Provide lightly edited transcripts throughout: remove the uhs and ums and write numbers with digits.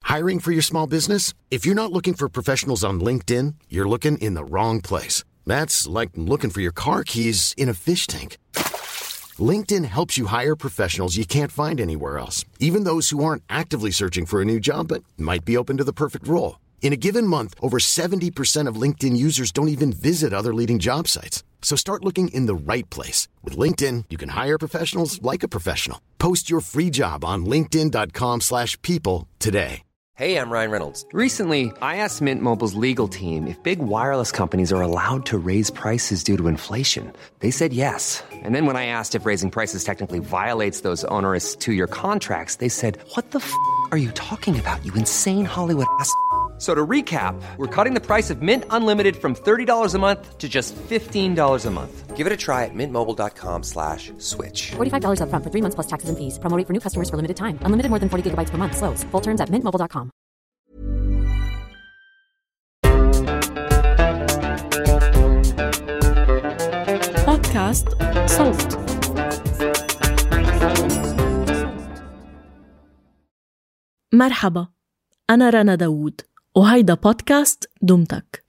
Hiring for your small business? If you're not looking for professionals on LinkedIn, you're looking in the wrong place. That's like looking for your car keys in a fish tank. LinkedIn helps you hire professionals you can't find anywhere else, even those who aren't actively searching for a new job but might be open to the perfect role. In a given month, over 70% of LinkedIn users don't even visit other leading job sites. So start looking in the right place. With LinkedIn, you can hire professionals like a professional. Post your free job on linkedin.com/people today. Hey, I'm Ryan Reynolds. Recently, I asked Mint Mobile's legal team if big wireless companies are allowed to raise prices due to inflation. They said yes. And then when I asked if raising prices technically violates those onerous 2-year contracts, they said, "What the are you talking about, you insane Hollywood ass?" So to recap, we're cutting the price of Mint Unlimited from $30 a month to just $15 a month. Give it a try at mintmobile.com/switch. $45 up front for 3 months plus taxes and fees. Promo rate for new customers for limited time. Unlimited more than 40 gigabytes per month. Slows full terms at mintmobile.com. بودكاست صوت. مرحبا، أنا رنا داوود وهيدا بودكاست دمتك.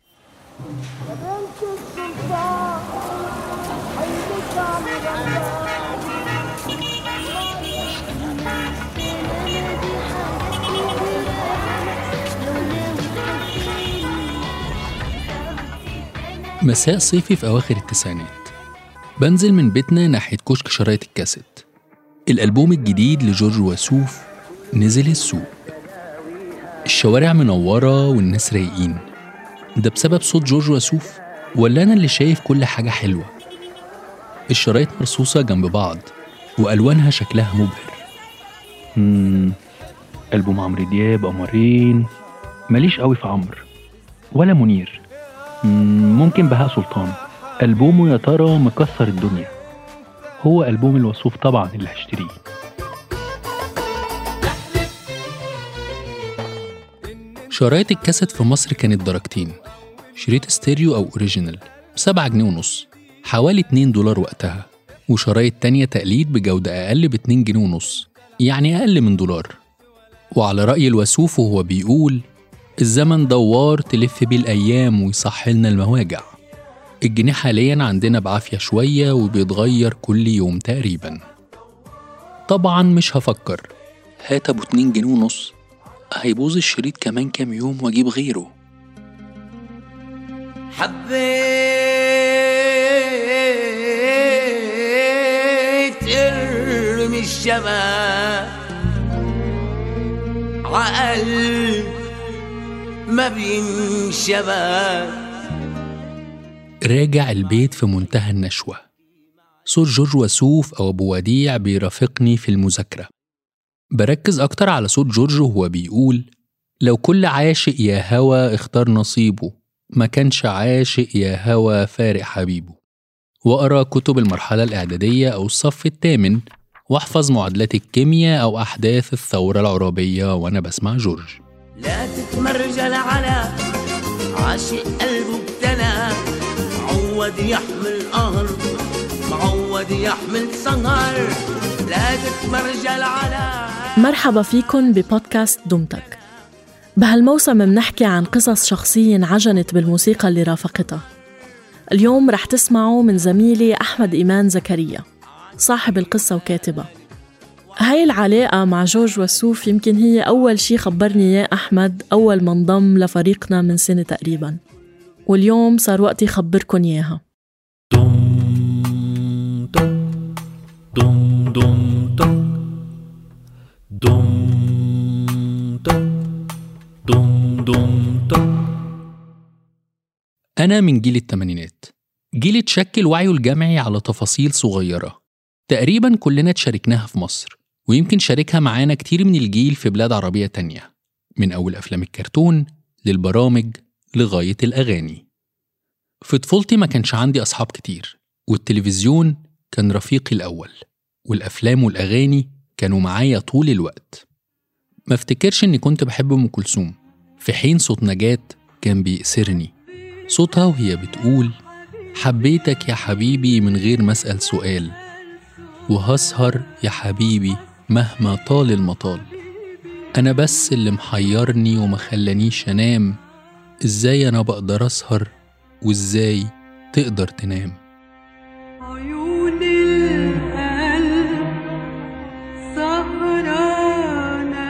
مساء صيفي في أواخر التسعينات، بنزل من بيتنا ناحية كشك شرايط الكاسيت. الألبوم الجديد لجورج وسوف نزل السوق. الشوارع منورة والناس رايقين. ده بسبب صوت جورج وسوف ولا أنا اللي شايف كل حاجة حلوة؟ الشرايط مرصوصة جنب بعض وألوانها شكلها مبهر. ألبوم عمرو دياب، قمرين، ماليش قوي في عمرو ولا منير. ممكن بهاء سلطان، ألبومه يا ترى مكسر الدنيا. هو ألبوم الوسوف طبعا اللي هشتريه. شرايط الكاسيت في مصر كانت درجتين، شريط ستيريو أو أوريجينال ب7.5 جنيه، حوالي $2 وقتها، وشرايط تانية تقليد بجودة أقل ب2.5 جنيه، يعني أقل من $1. وعلى رأي الوسوف وهو بيقول: الزمن دوار تلف بيه الأيام ويصحلنا المواجع. الجنيه حالياً عندنا بعافية شوية وبيتغير كل يوم تقريباً. طبعاً مش هفكر، هات أبو 2.5 جنيه، هيبوظ الشريط كمان كام يوم واجيب غيره. حبيت ارمي الشباب عقل ما بينشباب. راجع البيت في منتهى النشوة. صوت جورج وسوف أو أبو وديع بيرافقني في المذاكرة. بركز أكتر على صوت جورج وهو بيقول: لو كل عاشق يا هوى اختار نصيبه، ما كانش عاشق يا هوى فارق حبيبه. وأقرأ كتب المرحلة الإعدادية أو الصف الثامن، واحفظ معادلات الكيمياء أو أحداث الثورة العربية وأنا بسمع جورج. لا تتمرجل على عاشق قلبه ابتلى، معود يحمل قهر، معود يحمل سهر. لا تتمرجل على. مرحبا فيكن ببودكاست دمتك. بهالموسم منحكي عن قصص شخصية انعجنت بالموسيقى اللي رافقتها. اليوم رح تسمعوا من زميلي أحمد إيمان زكريا، صاحب القصة وكاتبة. هاي العلاقة مع جورج وسوف يمكن هي أول شي خبرني إياه أحمد أول ما انضم لفريقنا من سنة تقريباً، واليوم صار وقتي خبركن إياها. أنا من جيل الثمانينات، جيل اتشكل وعيه الجمعي على تفاصيل صغيرة تقريباً كلنا تشاركناها في مصر، ويمكن شاركها معانا كتير من الجيل في بلاد عربية تانية، من أول أفلام الكرتون للبرامج لغاية الأغاني. في طفولتي ما كانش عندي أصحاب كتير، والتلفزيون كان رفيقي الأول، والأفلام والأغاني كانوا معايا طول الوقت. ما افتكرش إني كنت بحب أم كلثوم، في حين صوت نجاة كان بيأسرني. صوتها وهي بتقول: حبيتك يا حبيبي من غير ما أسأل سؤال، وهسهر يا حبيبي مهما طال المطال. أنا بس اللي محيرني وما خلانيش أنام، إزاي أنا بقدر أسهر وإزاي تقدر تنام. عيون القلب سهرانة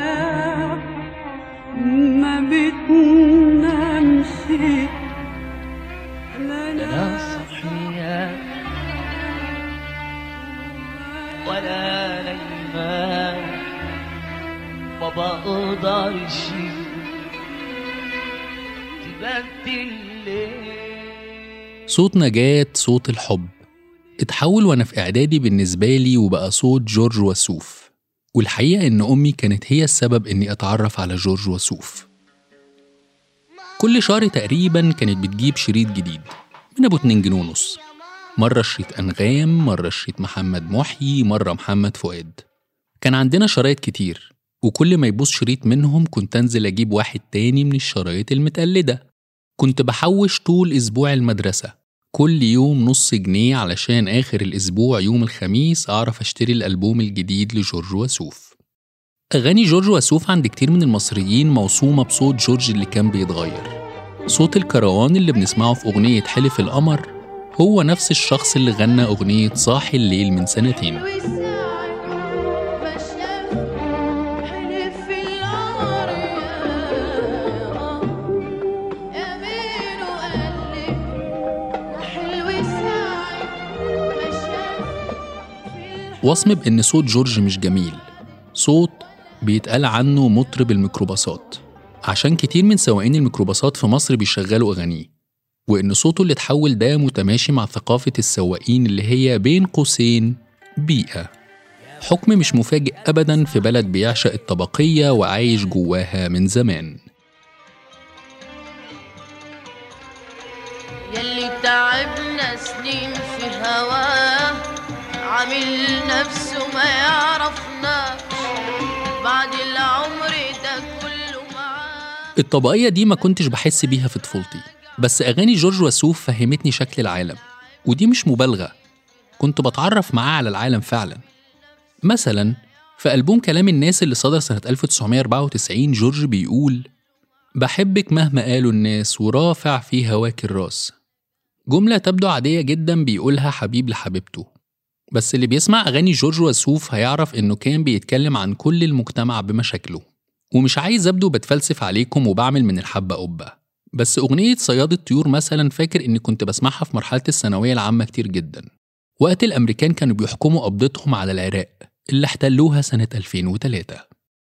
ما بتنامش لا صحية ولا نايمة ما بقدرش تبدل ليه. صوت نجاة، صوت الحب، اتحول وأنا في إعدادي بالنسبة لي وبقى صوت جورج وسوف. والحقيقة إن أمي كانت هي السبب إني أتعرف على جورج وسوف. كل شهر تقريباً كانت بتجيب شريط جديد من أبو 2 جنيه ونص، مرة شريط أنغام، مرة شريط محمد محي، مرة محمد فؤاد. كان عندنا شرايط كتير، وكل ما يبوظ شريط منهم كنت أنزل أجيب واحد تاني من الشرايط المتقلدة. كنت بحوش طول أسبوع المدرسة كل يوم نص جنيه علشان آخر الأسبوع يوم الخميس أعرف أشتري الألبوم الجديد لجورج وسوف. أغاني جورج وسوف عند كتير من المصريين موصومة بصوت جورج اللي كان بيتغير. صوت الكروان اللي بنسمعه في أغنية حلف القمر هو نفس الشخص اللي غنى أغنية صاحي الليل من سنتين. وصم بأن صوت جورج مش جميل، صوت بيتقال عنه مطرب الميكروباصات، عشان كتير من سواقين الميكروباصات في مصر بيشغلوا أغانيه، وإن صوته اللي اتحول ده متماشي مع ثقافة السواقين اللي هي بين قوسين بيئة. حكم مش مفاجئ أبداً في بلد بيعشق الطبقية وعايش جواها من زمان. يلي تعبنا سنين في هواه عامل نفسه ما يعرفنا بعد العمر ده كله معاه. الطبقية دي ما كنتش بحس بيها في طفولتي، بس أغاني جورج وسوف فهمتني شكل العالم، ودي مش مبالغة، كنت بتعرف معاه على العالم فعلا. مثلا في ألبوم كلام الناس اللي صدر سنة 1994 جورج بيقول: بحبك مهما قالوا الناس ورافع في هواك الراس. جملة تبدو عادية جدا بيقولها حبيب لحبيبته، بس اللي بيسمع أغاني جورج وسوف هيعرف إنه كان بيتكلم عن كل المجتمع بمشاكله. ومش عايز أبدو بتفلسف عليكم وبعمل من الحبة قبة، بس أغنية صياد الطيور مثلا فاكر إني كنت بسمعها في مرحلة الثانوية العامة كتير جدا، وقت الأمريكان كانوا بيحكموا قبضتهم على العراق اللي احتلوها سنة 2003.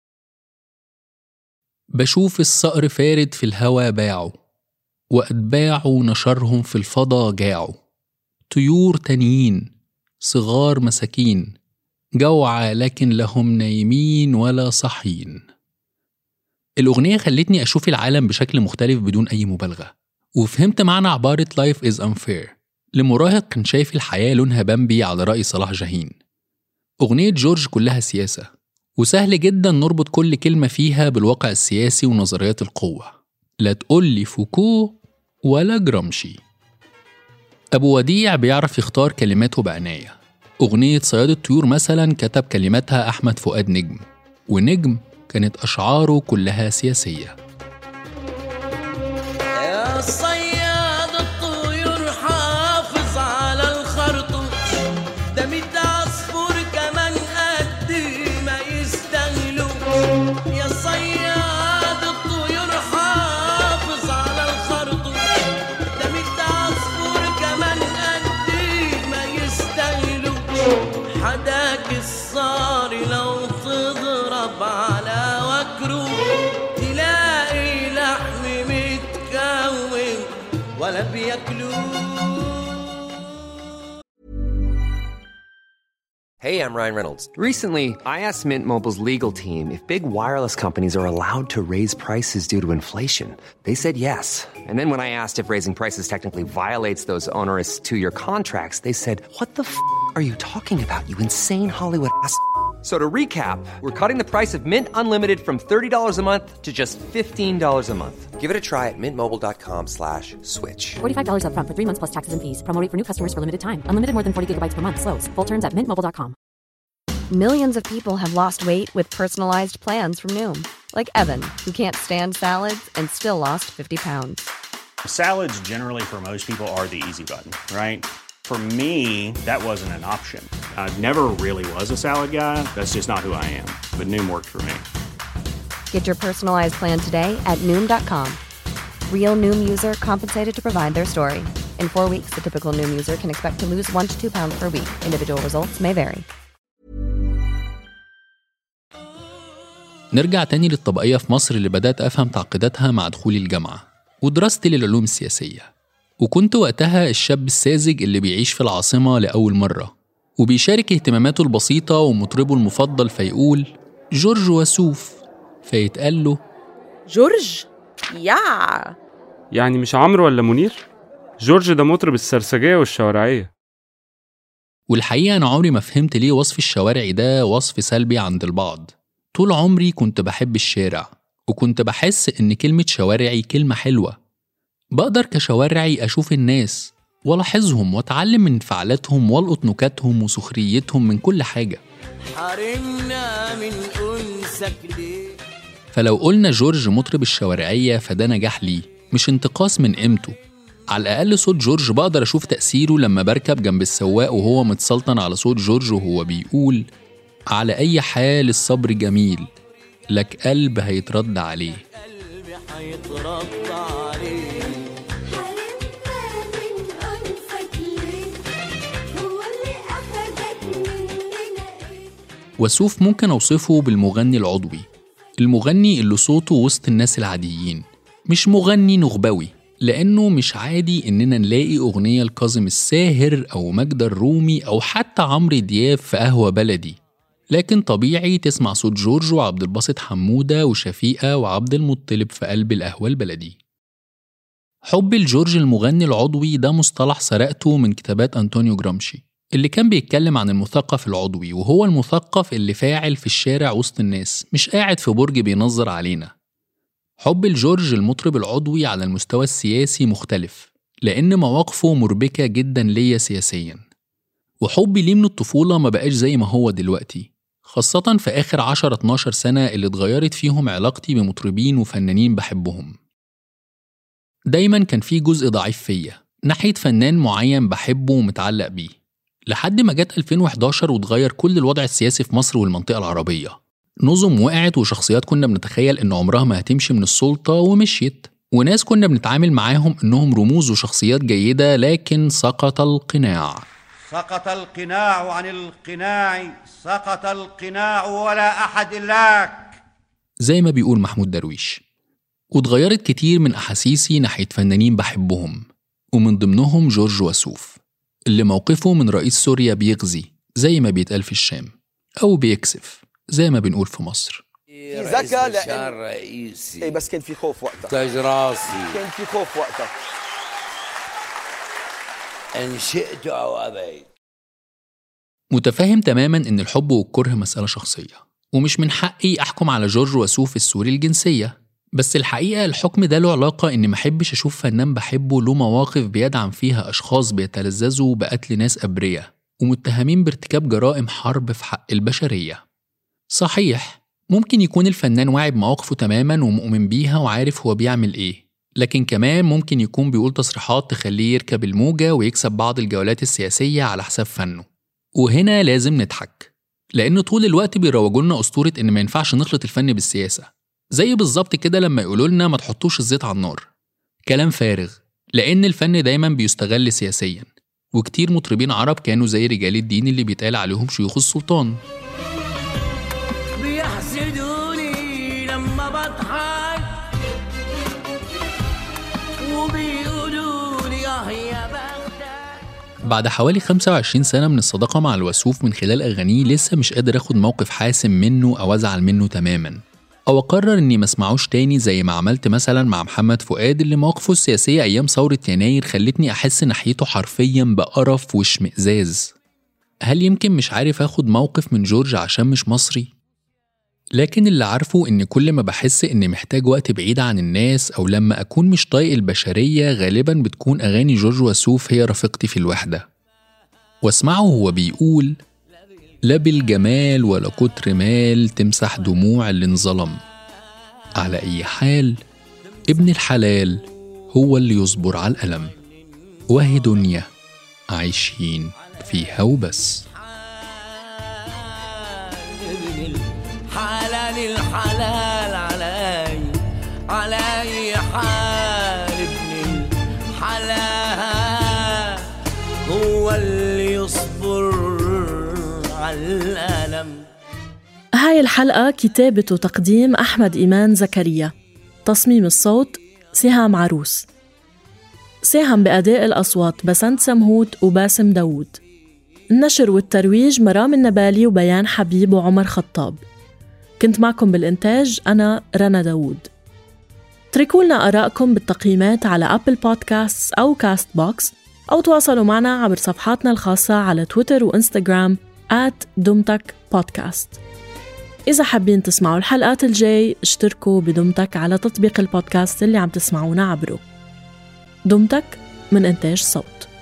بشوف الصقر فارد في الهوا باعوا، وأتباعوا نشرهم في الفضا جاعوا، طيور تانيين صغار مساكين جوعى لكن لهم نايمين ولا صحين. الأغنية خلتني أشوف العالم بشكل مختلف بدون أي مبالغة، وفهمت معنى عبارة Life is unfair لمراهق كان شايف الحياة لونها بامبي على رأي صلاح جاهين. أغنية جورج كلها سياسة، وسهل جدا نربط كل كلمة فيها بالواقع السياسي ونظريات القوة، لا تقولي فوكو ولا جرامشي. أبو وديع بيعرف يختار كلماته بعناية. أغنية صياد الطيور مثلا كتب كلماتها أحمد فؤاد نجم، ونجم كانت أشعاره كلها سياسية. يا صياد الطيور حافظ على الخرطوش، ده 100 عصفور كمان قد ما يستاهلوا. يا صياد الطيور حافظ على الخرطوش، ده 100 عصفور كمان قد ما يستاهلوا. حداك الصاري لو تضرب على وكره تلاقي لحم متكون ولا بياكلوه. Hey, I'm Ryan Reynolds. Recently, I asked Mint Mobile's legal team if big wireless companies are allowed to raise prices due to inflation. They said yes. And then when I asked if raising prices technically violates those onerous 2-year contracts, they said, "What the are you talking about, you insane Hollywood ass?" So to recap, we're cutting the price of Mint Unlimited from $30 a month to just $15 a month. Give it a try at mintmobile.com/switch. $45 up front for 3 months plus taxes and fees. Promo rate for new customers for limited time. Unlimited more than 40 gigabytes per month. Slows full terms at mintmobile.com. Millions of people have lost weight with personalized plans from Noom. Like Evan, who can't stand salads and still lost 50 pounds. Salads generally for most people are the easy button, right? For me, that wasn't an option. I never really was a salad guy. That's just not who I am. But Noom worked for me. Get your personalized plan today at Noom.com. Real Noom user compensated to provide their story. In 4 weeks, the typical Noom user can expect to lose 1 to 2 pounds per week. Individual results may vary. نرجع تاني للطبقية في مصر اللي بدأت أفهم تعقيداتها مع دخولي الجامعة ودراستي للعلوم السياسية. وكنت وقتها الشاب الساذج اللي بيعيش في العاصمة لأول مرة وبيشارك اهتماماته البسيطة ومطربه المفضل فيقول جورج وسوف، فيتقال له جورج؟ يعني مش عمرو ولا منير؟ جورج ده مطرب السرسجية والشوارعية. والحقيقة أنا عمري ما فهمت ليه وصف الشوارعي ده وصف سلبي عند البعض. طول عمري كنت بحب الشارع وكنت بحس إن كلمة شوارعي كلمة حلوة. بقدر كشوارعي أشوف الناس ولاحظهم وأتعلم من انفعالاتهم والقط نكاتهم وسخريتهم من كل حاجة. حرمنا من أنسك ليه. فلو قلنا جورج مطرب الشوارعية فده نجاح ليه مش انتقاص من قيمته. على الأقل صوت جورج بقدر أشوف تأثيره لما بركب جنب السواق وهو متسلطن على صوت جورج وهو بيقول على أي حال الصبر جميل لك قلب هيترد عليه. قلبي هيترد عليه. وسوف ممكن أوصفه بالمغني العضوي، المغني اللي صوته وسط الناس العاديين، مش مغني نخبوي، لأنه مش عادي إننا نلاقي أغنية لكاظم الساهر أو ماجدة الرومي أو حتى عمرو دياب في قهوة بلدي، لكن طبيعي تسمع صوت جورج وعبد الباسط حمودة وشفيقة وعبد المطلب في قلب القهوة البلدي. حب الجورج المغني العضوي ده مصطلح سرقته من كتابات أنطونيو جرامشي اللي كان بيتكلم عن المثقف العضوي، وهو المثقف اللي فاعل في الشارع وسط الناس مش قاعد في برج بينظر علينا. حب الجورج المطرب العضوي على المستوى السياسي مختلف لأن مواقفه مربكة جدا ليا سياسيا، وحبي ليه من الطفولة ما بقاش زي ما هو دلوقتي، خاصة في آخر 10-12 سنة اللي اتغيرت فيهم علاقتي بمطربين وفنانين بحبهم. دايما كان في جزء ضعيف فيا ناحية فنان معين بحبه ومتعلق بيه، لحد ما جت 2011 وتغير كل الوضع السياسي في مصر والمنطقة العربية. نظم وقعت وشخصيات كنا بنتخيل إن عمرها ما هتمشي من السلطة ومشيت، وناس كنا بنتعامل معاهم إنهم رموز وشخصيات جيدة، لكن سقط القناع. سقط القناع عن القناع، سقط القناع ولا أحد إلاك، زي ما بيقول محمود درويش. واتغيرت كتير من أحاسيسي ناحية فنانين بحبهم، ومن ضمنهم جورج وسوف اللي موقفه من رئيس سوريا بيغزي زي ما بيتقال في الشام، أو بيكسف زي ما بنقول في مصر. في ذكاء لأن رئيسي إيه، بس كان في خوف وقتها، تاج راسي كان في خوف وقتها، إن شئت أو أبيت. متفاهم تماما إن الحب والكره مسألة شخصية، ومش من حقي أحكم على جورج وسوف السوري الجنسية، بس الحقيقة الحكم ده له علاقة إني محبش أشوف فنان بحبه له مواقف بيدعم فيها أشخاص بيتلذذوا بقتل ناس أبرياء ومتهمين بارتكاب جرائم حرب في حق البشرية. صحيح ممكن يكون الفنان واعي بمواقفه تماما ومؤمن بيها وعارف هو بيعمل إيه، لكن كمان ممكن يكون بيقول تصريحات تخليه يركب الموجة ويكسب بعض الجولات السياسية على حساب فنه. وهنا لازم نضحك، لأن طول الوقت بيروجولنا أسطورة إن ما ينفعش نخلط الفن بالسياسة، زي بالظبط كده لما يقولوا لنا ما تحطوش الزيت على النار. كلام فارغ، لأن الفن دايما بيستغل سياسيا، وكتير مطربين عرب كانوا زي رجال الدين اللي بيتقال عليهم شيوخ السلطان. بيحسدوني لما بضحك وبيقولوا لي يا بختك. بعد حوالي 25 سنة من الصداقة مع الوسوف من خلال أغانيه لسه مش قادر أخد موقف حاسم منه أو أزعل منه تماما، أو أقرر إني ما اسمعوش تاني زي ما عملت مثلا مع محمد فؤاد اللي مواقفه السياسية أيام ثورة يناير خلتني أحس ناحيته حرفيا بقرف واشمئزاز. هل يمكن مش عارف أخد موقف من جورج عشان مش مصري؟ لكن اللي عارفه إن كل ما بحس إني محتاج وقت بعيد عن الناس أو لما أكون مش طايق البشرية غالبا بتكون أغاني جورج وسوف هي رفيقتي في الوحدة. واسمعه هو بيقول لا بالجمال ولا كتر مال تمسح دموع اللي انظلم. على أي حال ابن الحلال هو اللي يصبر على الألم، وهي دنيا عايشين فيها وبس. حلال الحلال علي حال ابن الحلال هو اللي يصبر على الألم. هاي الحلقة كتابة وتقديم أحمد إيمان زكريا، تصميم الصوت سهام عروس، ساهم بأداء الأصوات بسنت سمهوت وباسم داود، النشر والترويج مرام النبالي وبيان حبيب وعمر خطاب. كنت معكم بالإنتاج أنا رنا داود. تركولنا آراءكم بالتقييمات على أبل بودكاست أو كاست بوكس، أو تواصلوا معنا عبر صفحاتنا الخاصة على تويتر وإنستغرام @دمتك بودكاست. إذا حابين تسمعوا الحلقات الجاي اشتركوا بدمتك على تطبيق البودكاست اللي عم تسمعونا عبره. دمتك من إنتاج صوت.